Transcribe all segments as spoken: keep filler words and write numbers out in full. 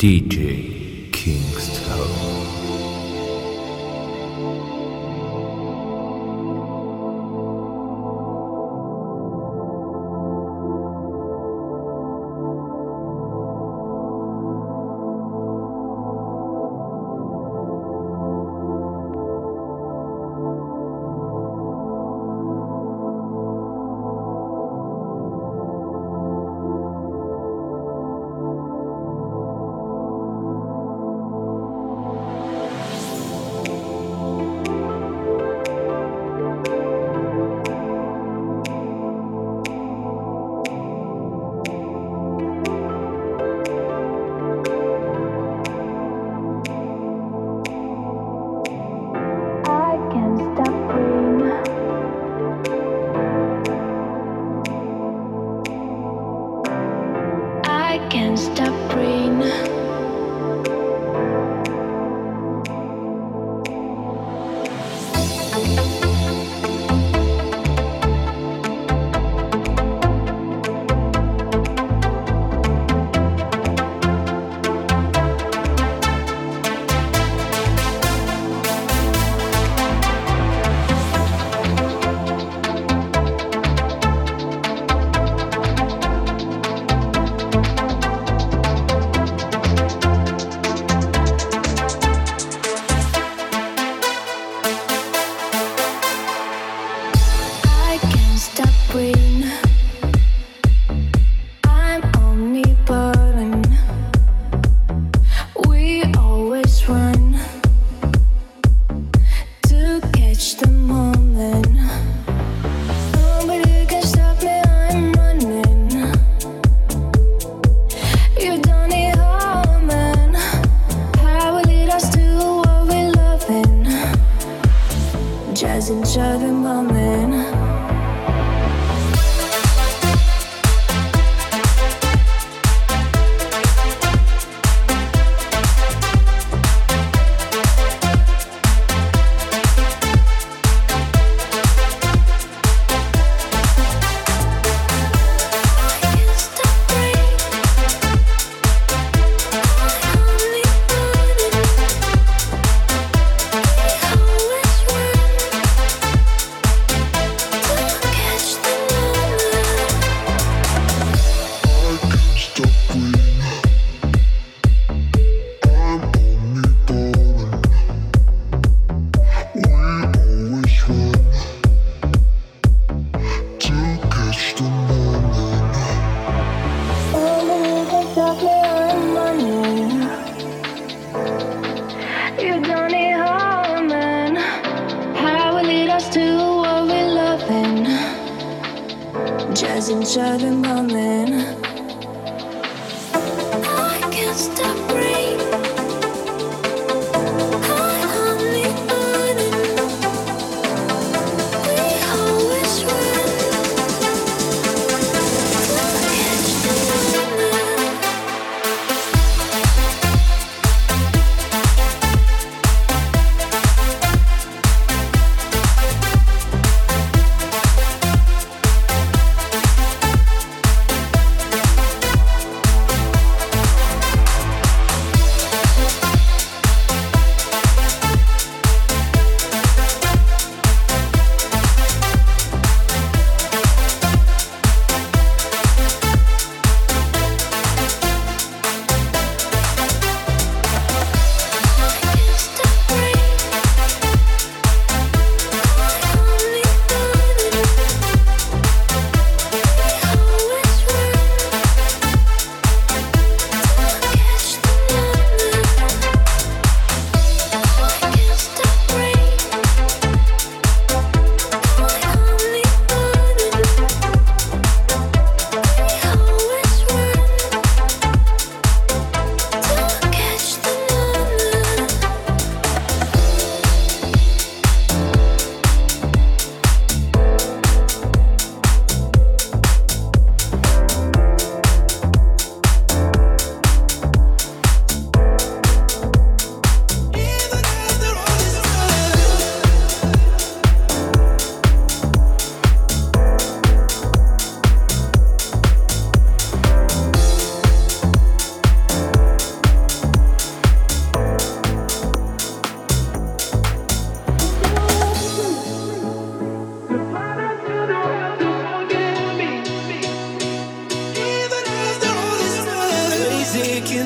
D J Kingston.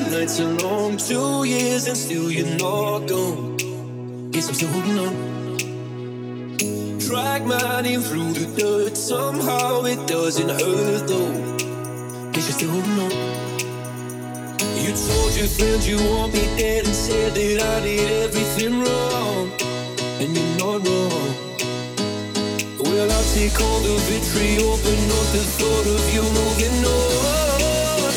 nights are long, two years and still you're not gone. Guess I'm still holding on. Drag my name through the dirt, somehow it doesn't hurt though. Guess you're still holding on. You told your friends you want me dead and said that I did everything wrong, and you're not wrong. Well, I'll take all the vitriol, but not the thought of you moving on.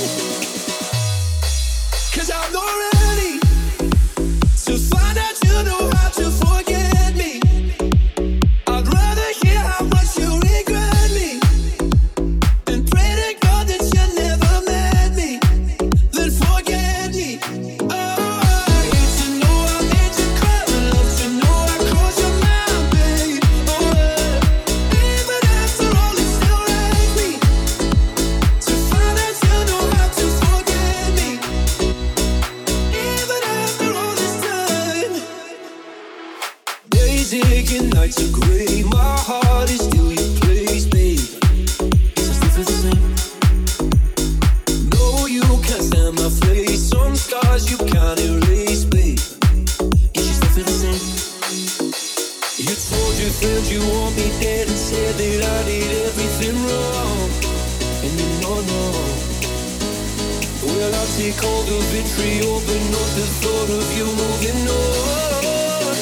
Cause I'm not ready to find out you know how to forget me. I'd rather hear how much you regret me and pray to God that you never met me than forget me. Oh, I hate to know I made you cry, but love to know I crossed your mind, babe. Oh, yeah. Even after all, it still wrecks me to find out you know how to forget me. Even after all this time, days aching, nights are gray. My heart is still your place, babe. Guess I still feel the same. No, you can't stand my face. Some scars you can't erase, babe. Guess you still feel the same. You told your friends you want me dead and said that I did everything wrong, and you're not wrong. Well, I'll take all the vitriol, but not the thought of you moving on.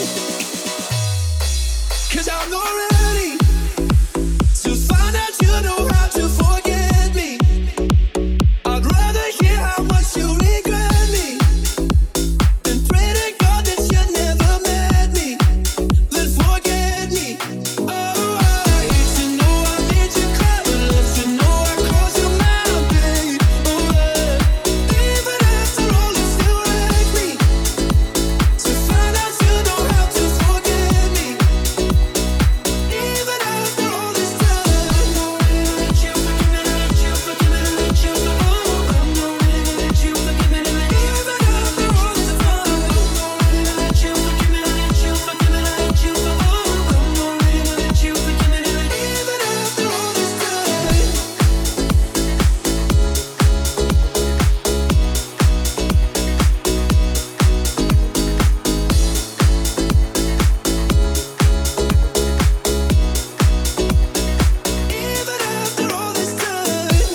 Cause I'm not ready to find out you know how to forget me. I'd rather hear how much you regret me and pray to God that you never met me than forget me. Oh, I hate to know I made you cry, but love to know I crossed your mind, babe. Oh, yeah. Even after all, it still wrecks me to find out you know how to forget me. Even after all this time, I'm not ready to let you forgive me, let you forgive me, let you forgive me. I'm not ready to let you forgive me, let even after all this time, I'm not ready to let you forgive me, let you forgive me, let you forgive me. I'm not ready to let you forgive me, let even after all this time. Even after all this time.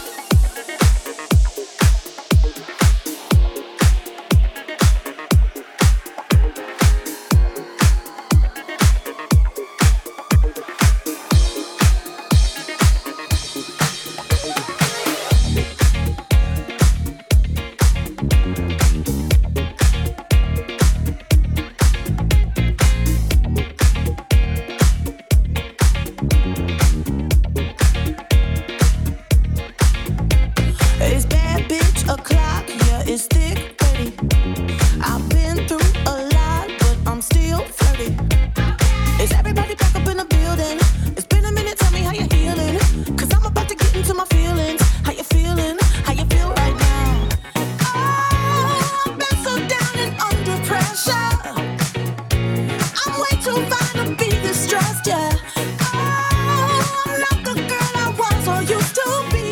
It's bad bitch o'clock, yeah, it's thick thirty. I've been through a lot, but I'm still flirty. Is everybody back up in the building? It's been a minute, tell me how you healing. Cause I'm about to get into my feelings. How you feeling? How you feel right now? Oh, I've been so down and under pressure. I'm way too fine to be distressed, yeah. Oh, I'm not the girl I was or used to be.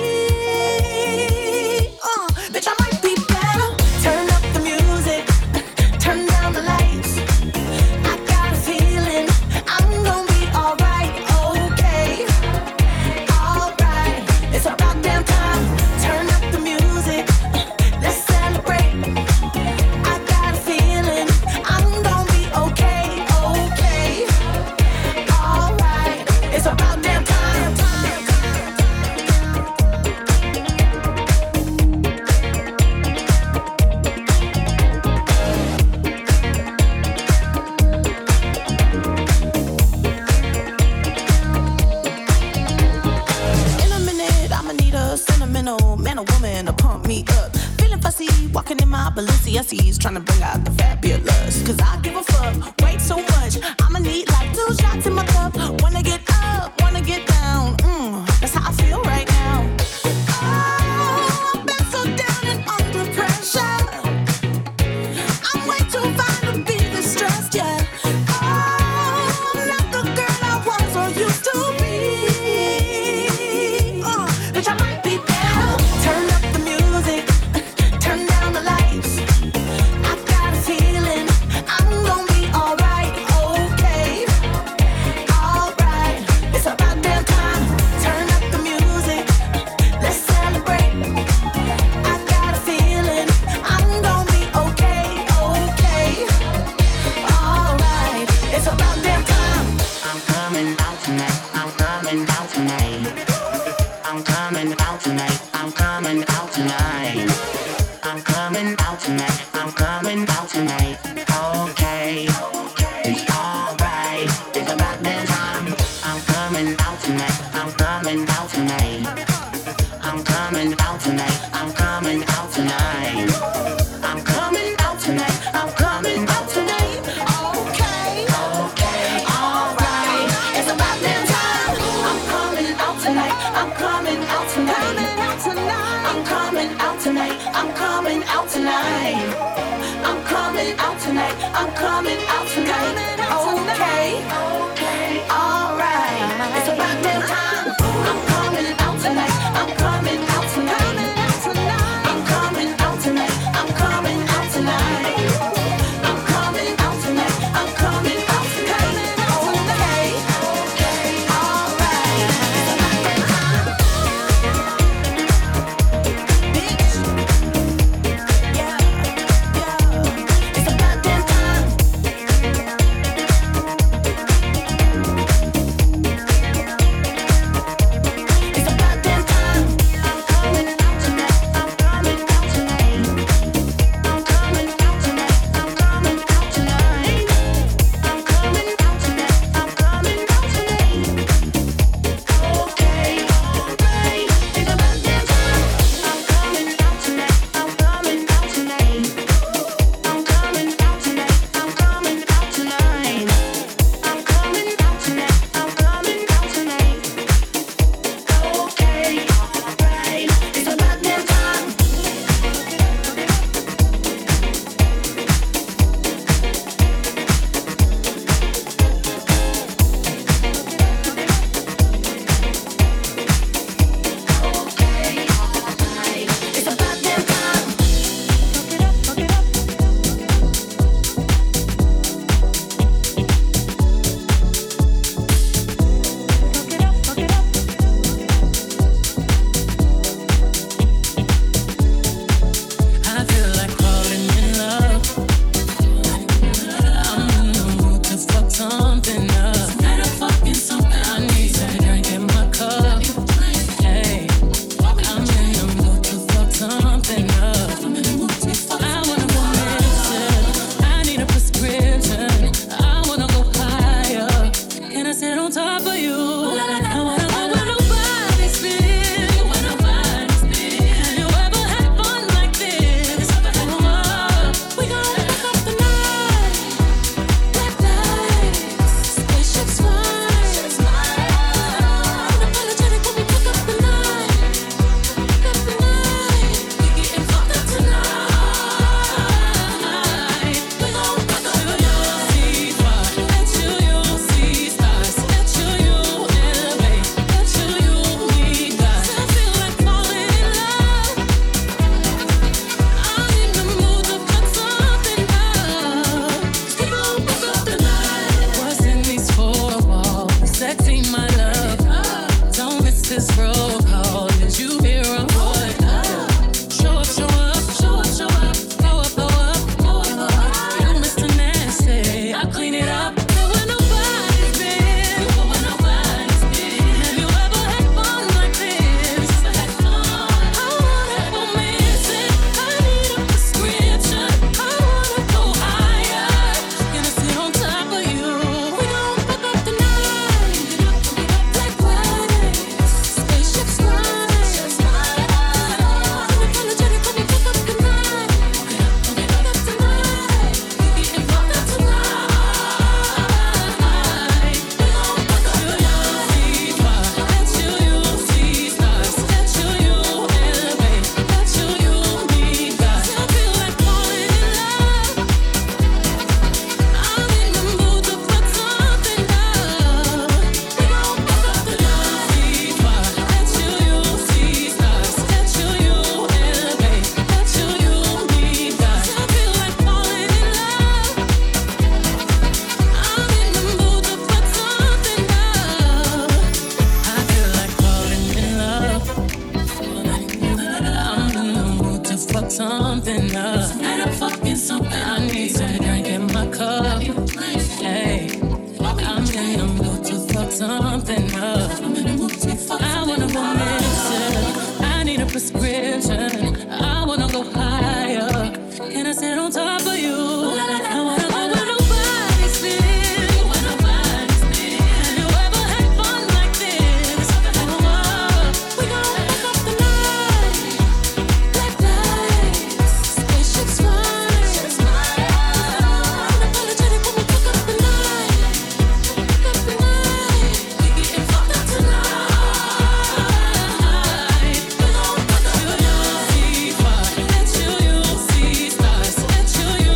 Uh, bitch, I might be better. Turn up the music, turn down the lights. I got a feeling I'm gonna be alright, okay, alright. It's about damn time. Turn up the music, let's celebrate. I got a feeling I'm gonna be okay, okay, alright. It's about damn time. In a minute, I'ma need a sentimental man or woman to pump me up. Feeling fussy, walking in my Balenciennes, trying to bring out the fabulous. Cause I give a fuck, way too much. I'ma need like two shots in my cup. Wanna get up, wanna get down. Mm, that's how I feel right now. Oh, I've been so down and under pressure. I'm way too fine to be distressed, yeah. Oh, I'm not the girl I was or used to be. Uh, bitch, I might be better. Turn up the music, turn down the lights. I'm coming out tonight. Okay, it's alright. It's about that time. I'm coming out tonight. I'm coming out tonight. I'm coming out tonight. I'm coming out tonight. I'm coming out tonight. I'm coming out tonight. Okay, okay, alright. It's about that time. I'm coming out tonight. I'm coming out tonight. I'm coming out tonight. I'm coming out tonight. I'm coming out tonight. I'm coming out tonight. Okay, okay, alright. It's about that time. I'm coming out tonight. on top of you. I wanna go where nobody's been. Where nobody's been. Have you ever had fun like this? Oh, oh. We gon' fuck up the night. Black lights, spaceships flying. Unapologetic when we fuck up the night. Fuck up the night. We getting fucked up tonight. We gon' fuck up the night. Let you, you see stars. Let you, you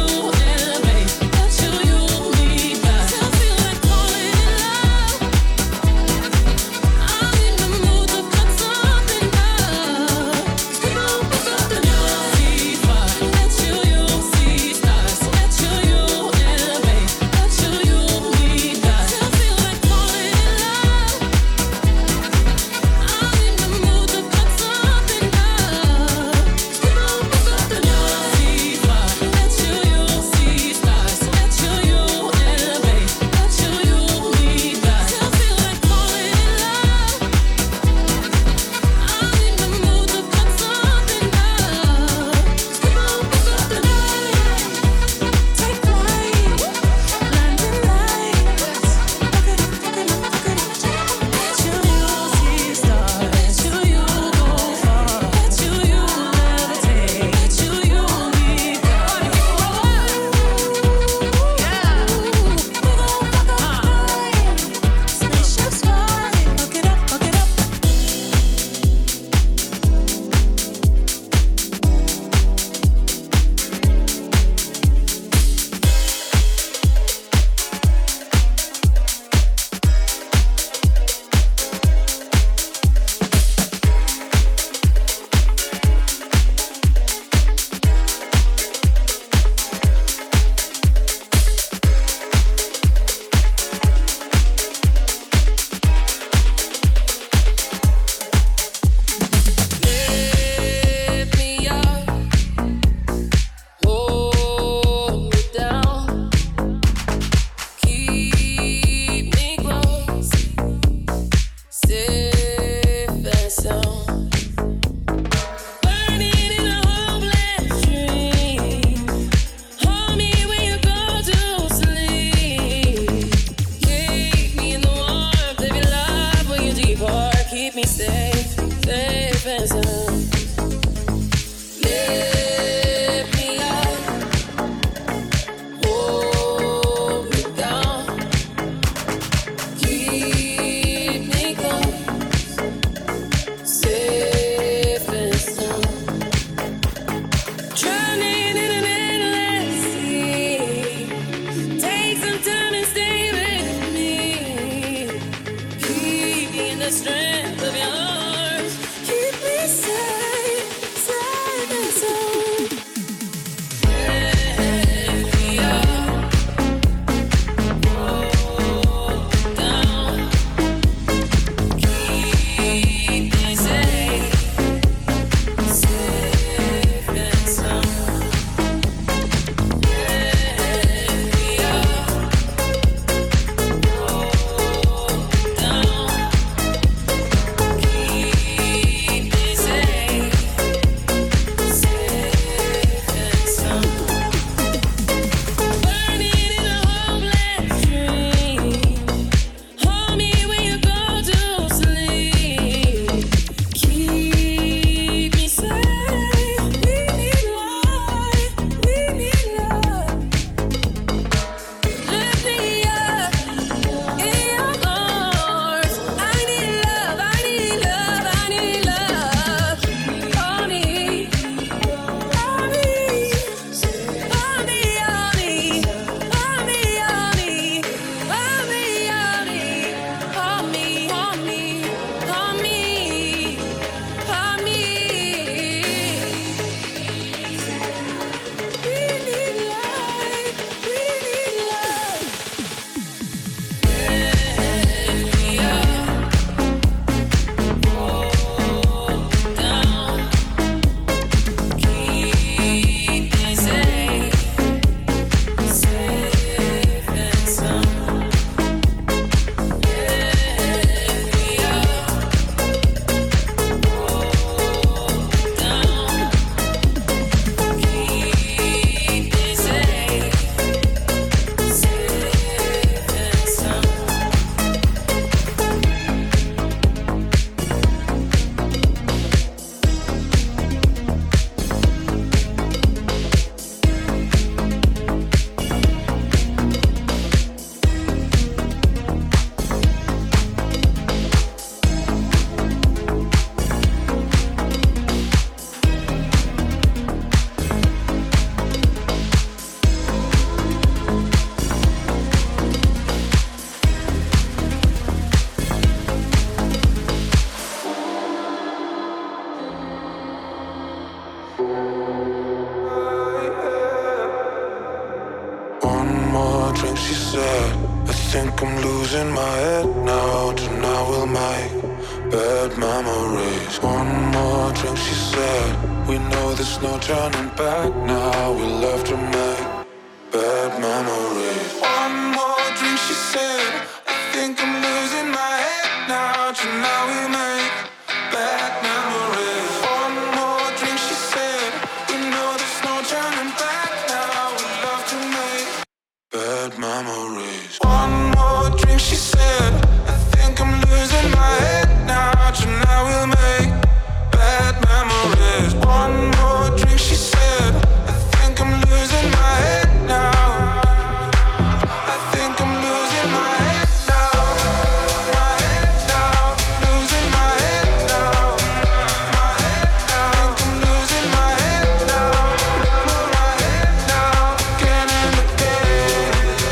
she said, I think I'm losing my head now. Tonight we'll make bad memories. One more drink, she said, we know there's no turning back now. We love to make bad memories. One more drink, she said, I think I'm losing my head now. Tonight we'll make bad memories. One more drink, she said, we know there's no turning back now. We love to make bad memories. One more drink, she said, I think I'm losing my head now. Tonight we'll make bad memories. One more drink, she said, I think I'm losing my head now. I think I'm losing my head now. My head now, losing my head now. My head now, I think I'm losing my head now. My head now, again and again.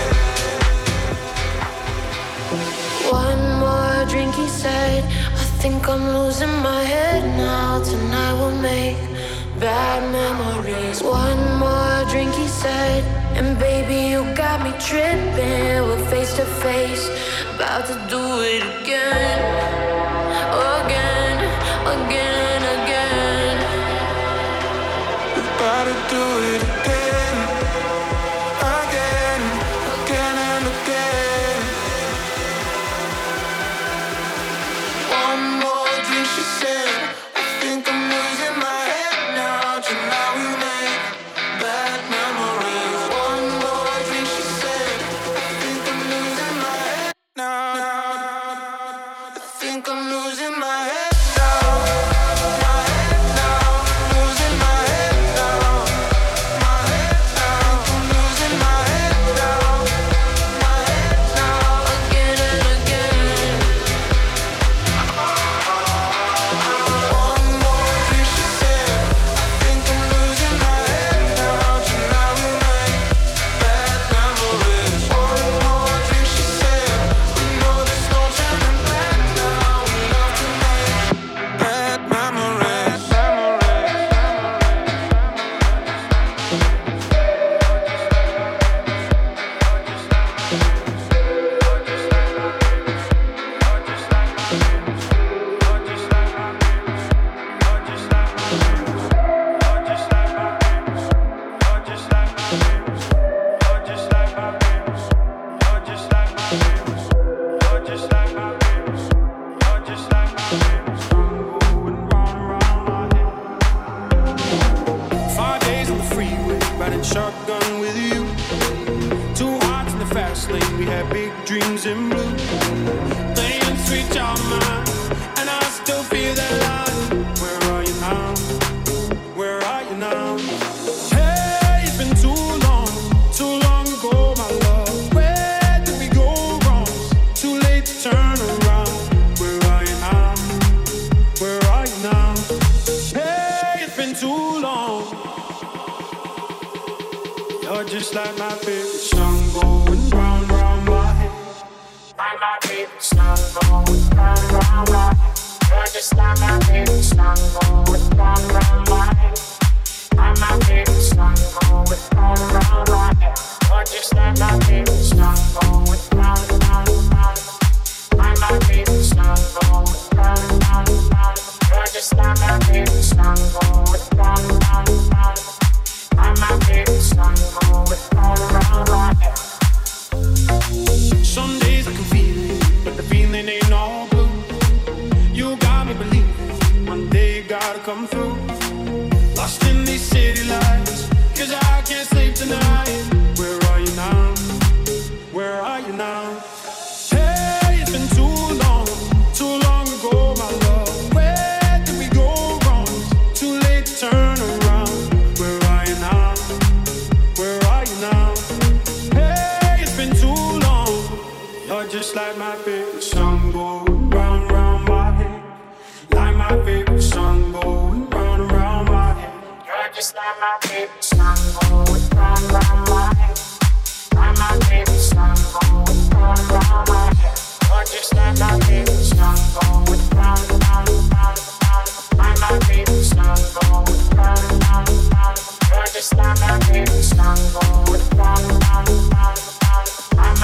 One more drink, he said, I think I'm losing my head now. Tonight we'll make bad memories. One more drink, he said, and baby, you got me tripping. We're face to face, about to do it again. Again, again, again. We're about to do it again. Again, again and again. One more drink, she said, I think I'm losing my head now. Tonight we make bad memories. One more drink, she said, I think I'm losing my head now. I think I'm losing my head now. My head now, losing my head now. My head now, I think I'm losing my head now. My head now, Again and again. one more drink, she said, I think I'm losing my head now. Tonight we make bad memories. One more drink, she said, we know there's no turning back now. We love to make bad memories. Five days on the freeway, riding shotgun with you. Two hearts in the fast lane, we had big dreams in blue. Playing sweet child of mine, and I still feel that line. Where are you now? Where are you now? Hey, it's been too long, too long ago, my love. Where did we go wrong? Too late to turn around. Where are you now? Where are you now? Hey, it's been too long. You're just like my favorite song going round, round my head. Like my favorite song going round, round my head. You're just like my favorite song going round, round my head. Like my favorite song going round, round my head. You're just like my favorite song going round, round, round. Like my favorite song going round, round, round. You're just like my favorite song going round, round, round. Like my favorite song going round, round my head. Some days I can feel it, but the feeling ain't all blue. You got me believing one day you gotta come through. Lost in these city lights, cause I can't sleep tonight. Where are you now? Where are you now? Hey, it's been too long, too long ago, my love. Where did we go wrong? Too late to turn around. Where are you now? Where are you now? Hey, it's been too long. You're just like my favorite song going round, round my head. Like my favorite song going round, round my head. You're just like my favorite song going round, round my head. Like my favorite song going round, round my head. You're just like my favorite song going round, round, round, round. Like my favorite song going round, round, round. You're just like my favorite song going round, round, round, round. Like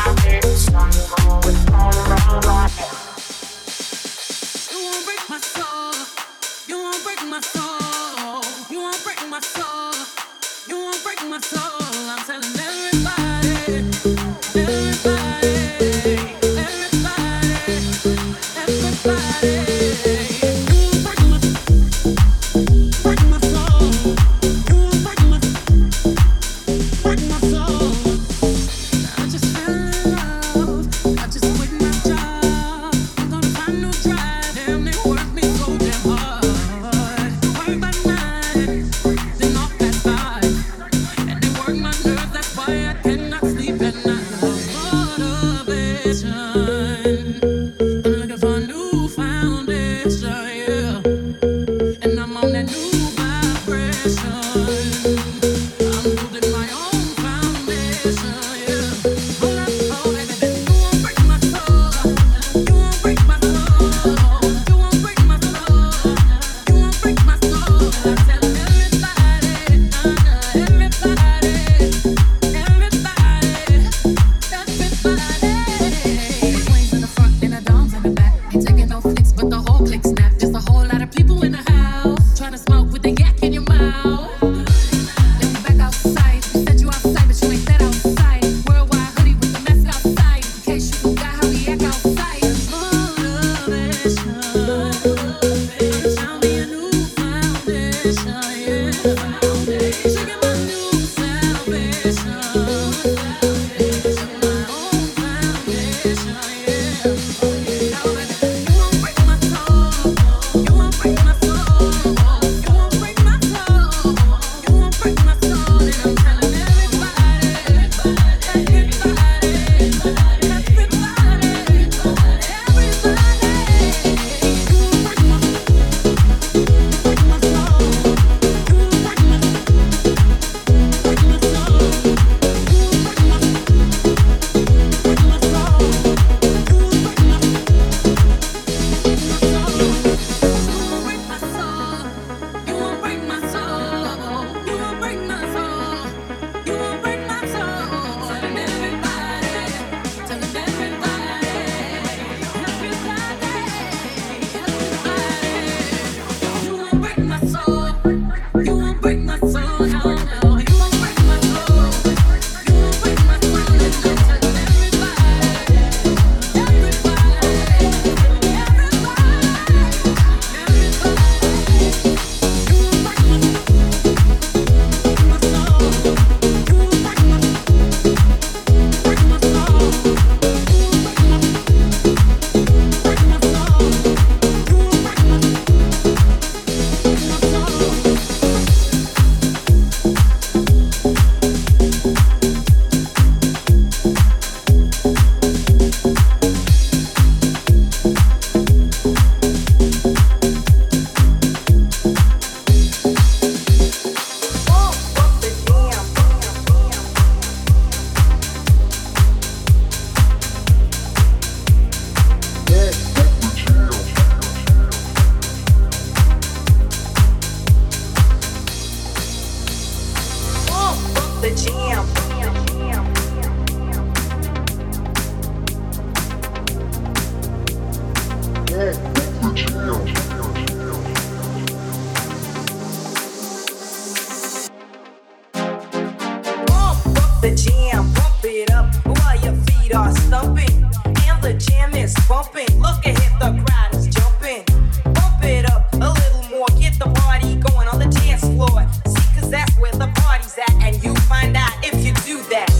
the jam, pump it up while your feet are stumping. And the jam is bumping. Look ahead, the crowd is jumping. Pump it up a little more, get the party going on the dance floor. See, cause that's where the party's at, and you find out if you do that.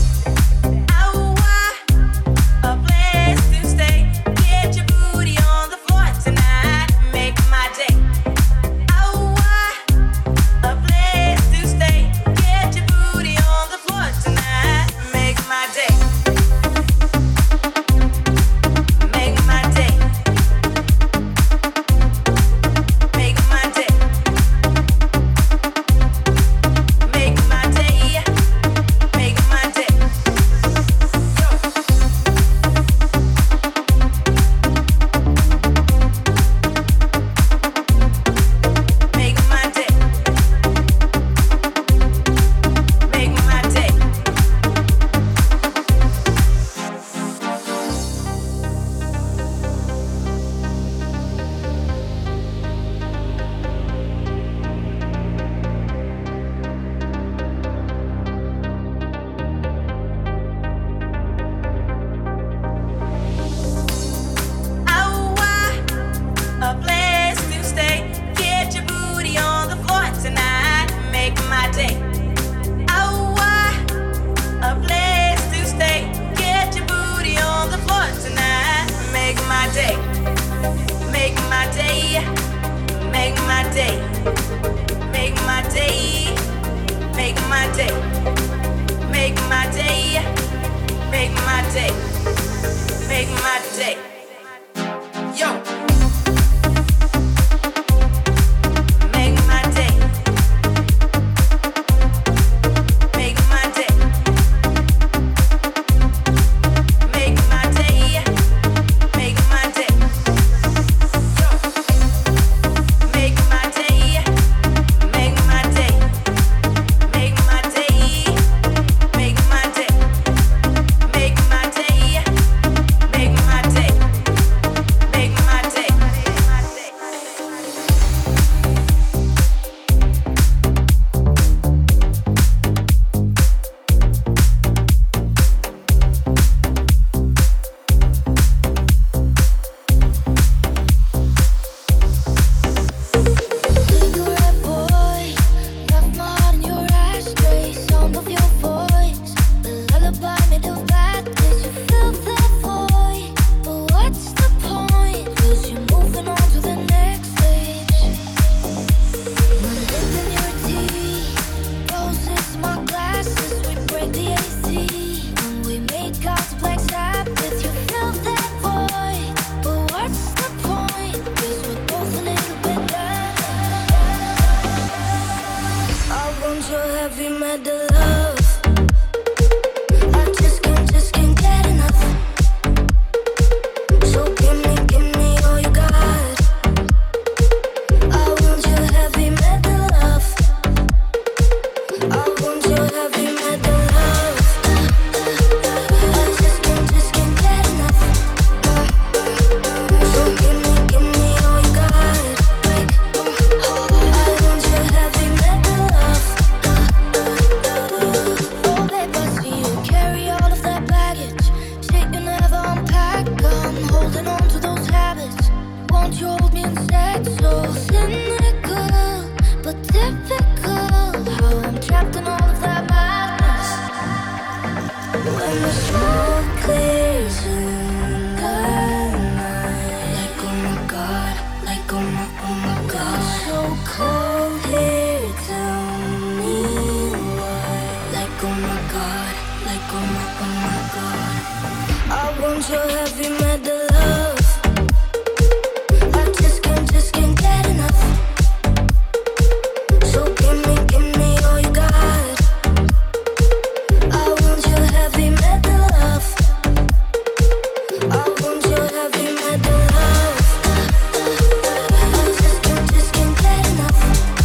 Oh, a place to stay. Get your booty on the floor tonight. Make my day. Oh, a place to stay. Get your booty on the floor tonight. Make my day. Make my day. And the smoke clears in the night. Like oh my god, like oh my, oh my god. So cold here, tell me why. Like oh my god, like oh my, oh my god. I want your heavy metal love. I just can't, just can't get enough. So give me, give me all you got. I want your heavy metal love. I want your heavy metal love. I just can't, just can't get enough.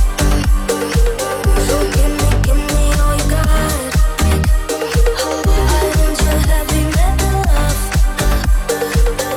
So give me, give me all you got. I want your heavy metal love.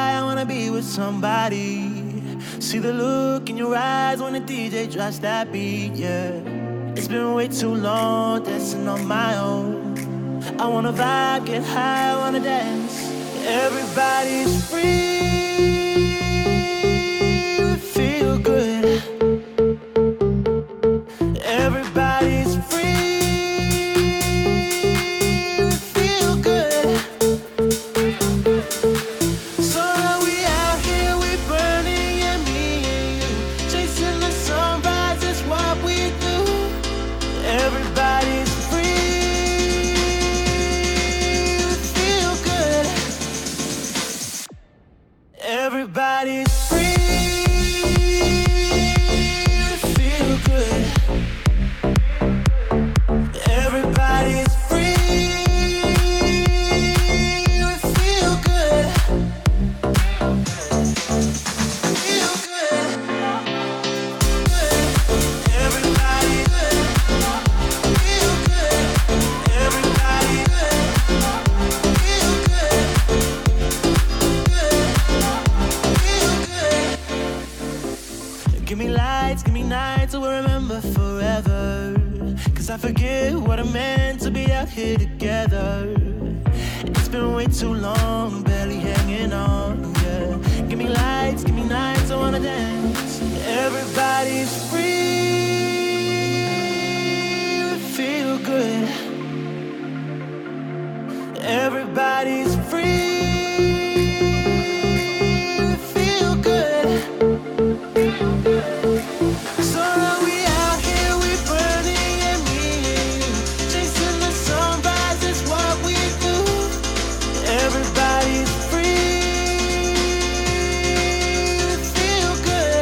high, I wanna be with somebody. See the look in your eyes when the D J drops that beat, yeah. It's been way too long dancing on my own. I wanna vibe, get high, I wanna dance. Everybody's free, we feel good. Everybody's free, we feel good. So now we out here, we burning, yeah, me and you. Chasing the sunrise, that's what we do. Everybody's free, we feel good. Everybody's free, we feel good. Everybody's free, we feel good. Feel good. Everybody good. Feel good. Everybody good. Feel good. Good. Feel good. Give me lights, give me nights, so we'll remember forever. Cause I forget what it meant to be out here together. It's been way too long, barely hanging on, yeah. Give me lights, give me nights, I wanna dance. Everybody's free, we feel good. Everybody's free, we feel good. So now we out here, we burning, yeah, me and you. Chasing the sunrise, that's what we do. Everybody's free, we feel good.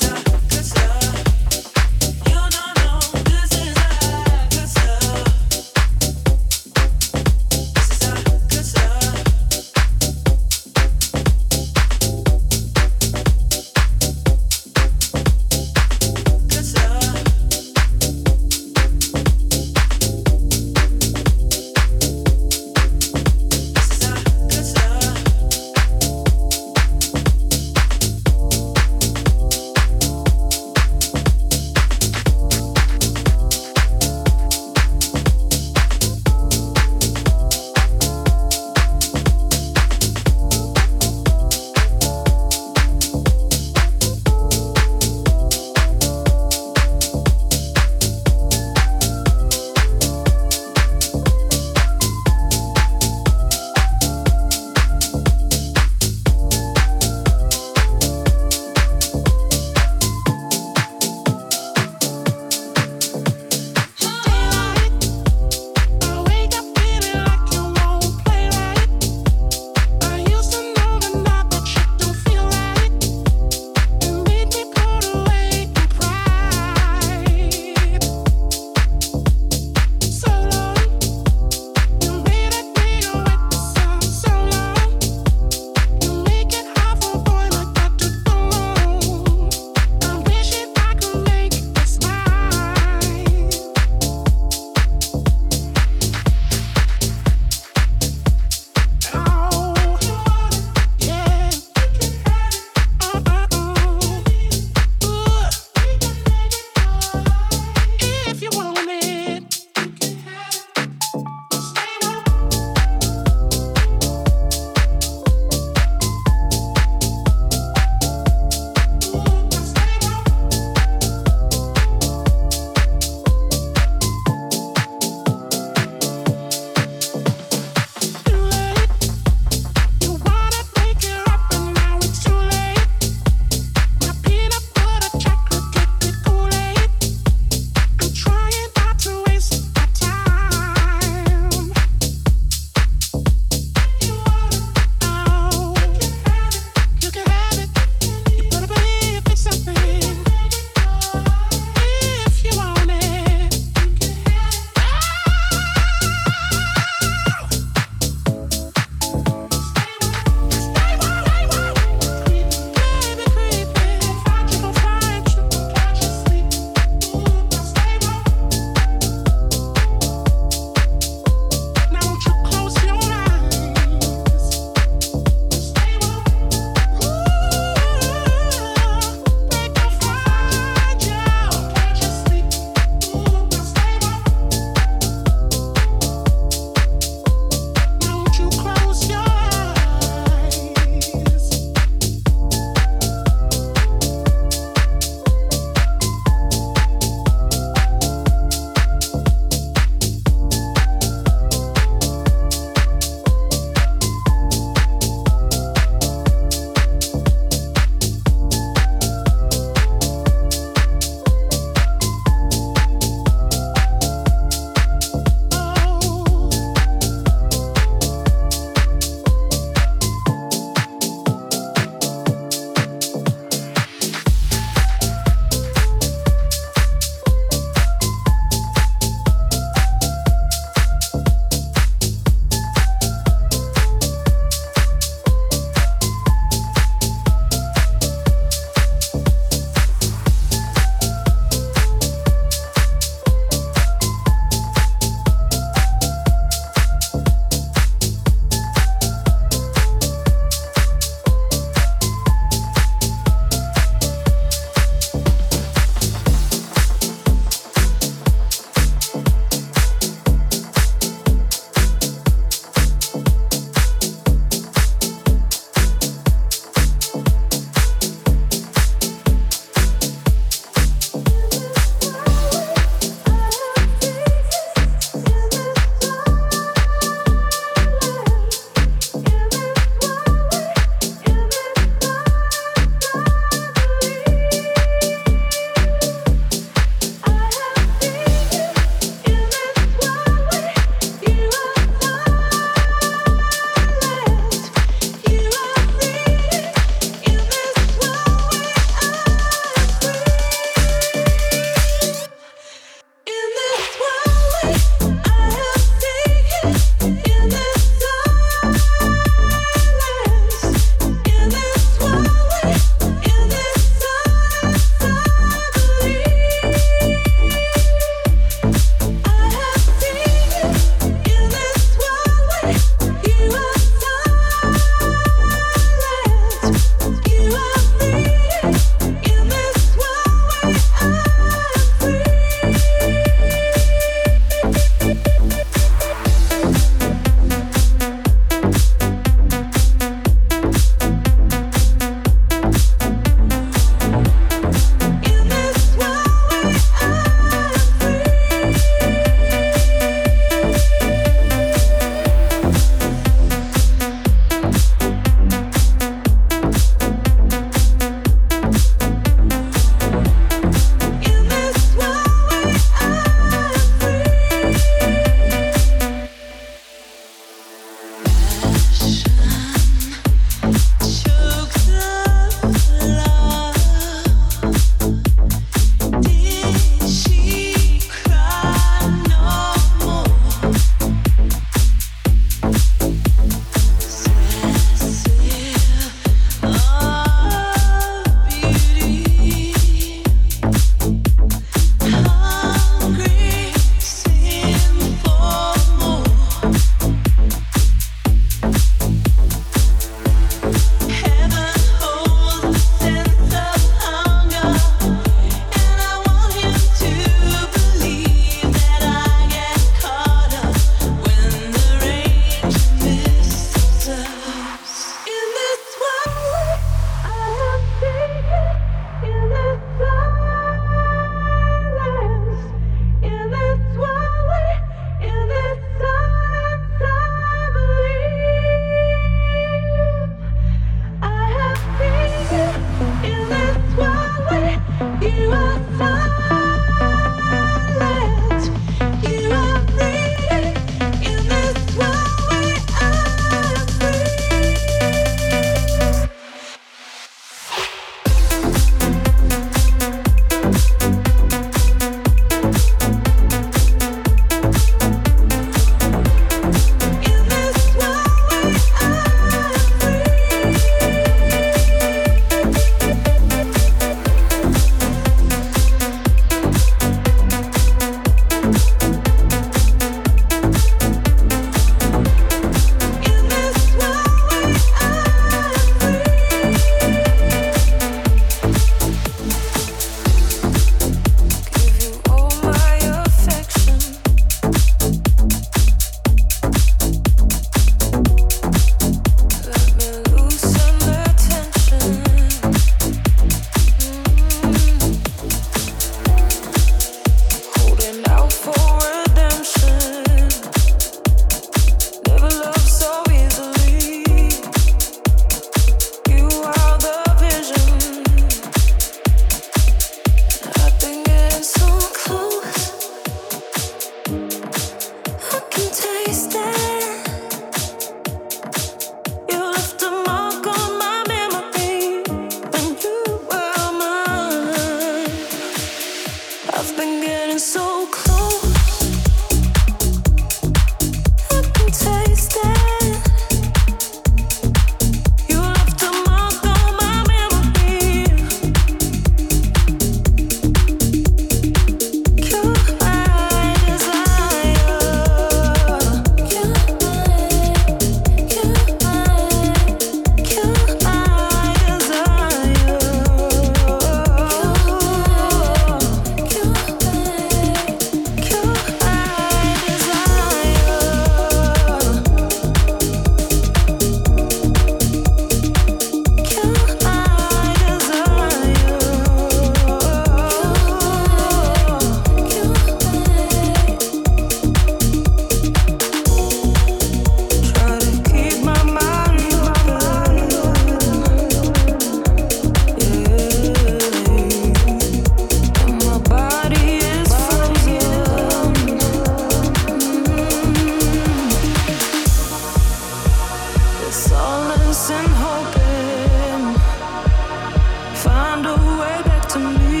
solace and hoping, find a way back to me.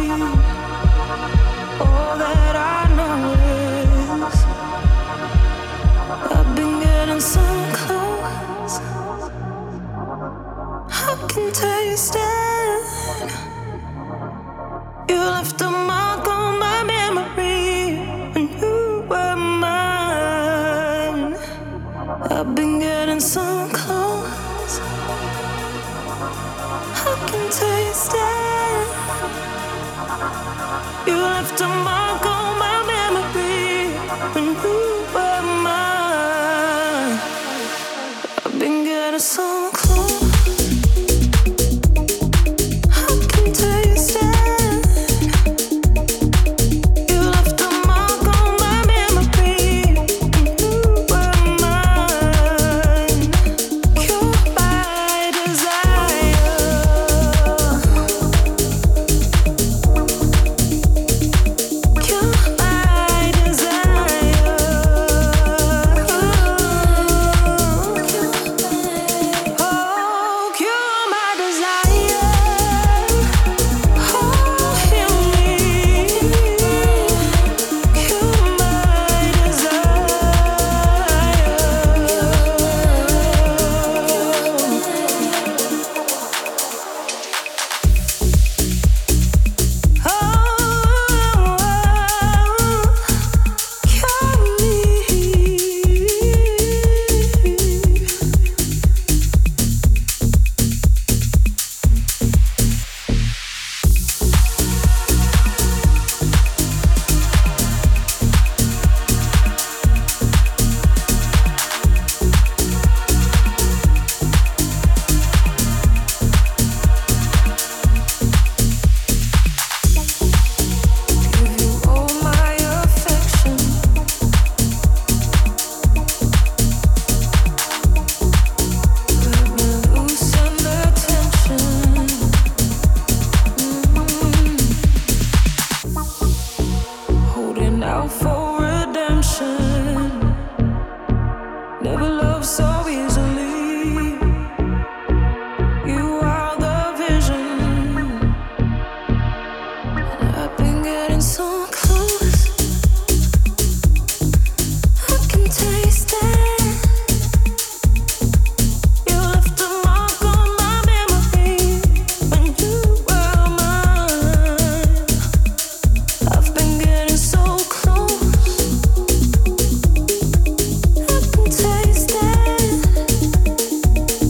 All that I know is I've been getting so close. I can taste it. You left a mark on my memory when you were mine. I've been getting so close. I can taste it. You left a mark on my memory when you were mine. I've been getting so close. I can taste it. Taste it.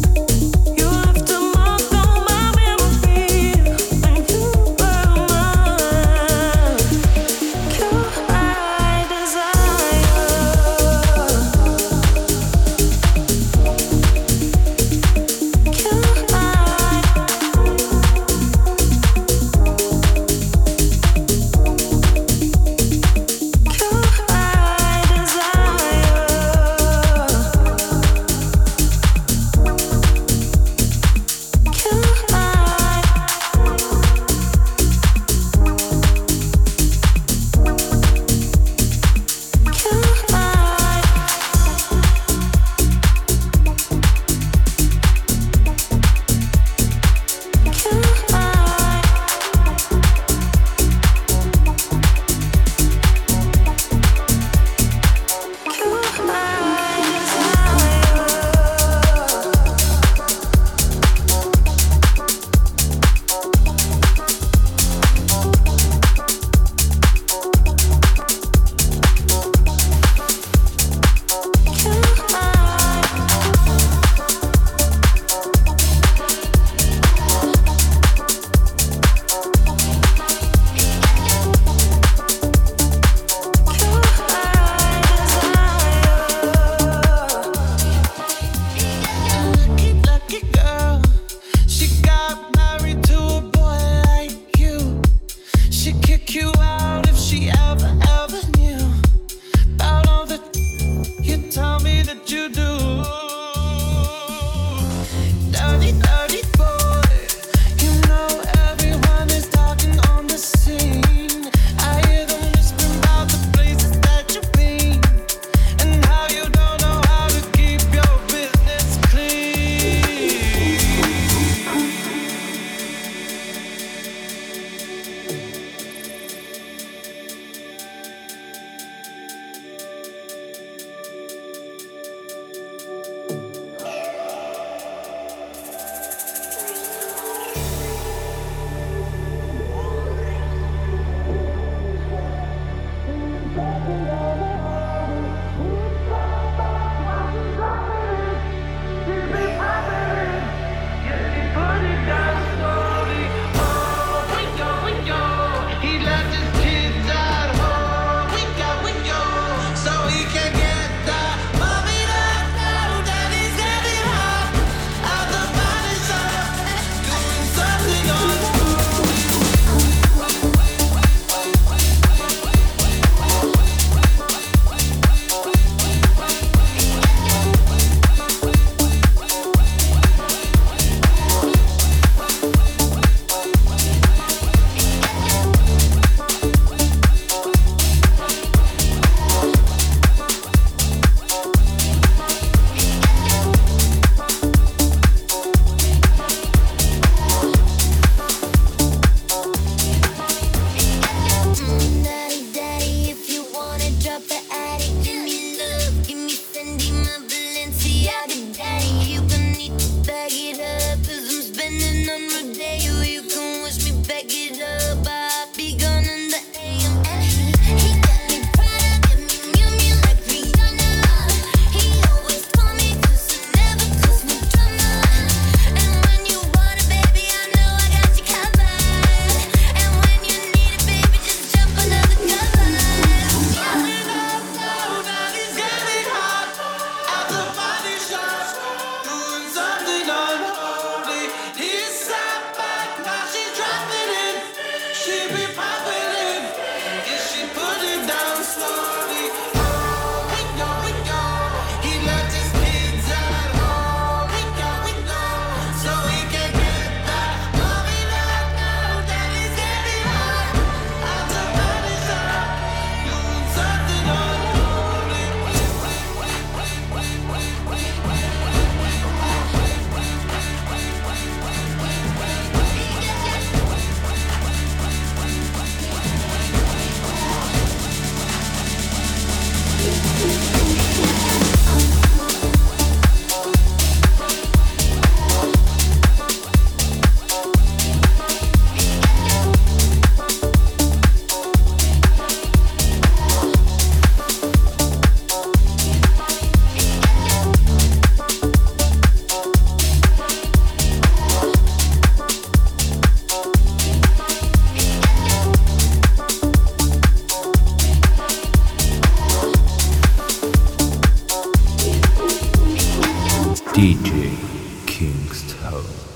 D J Kingstone.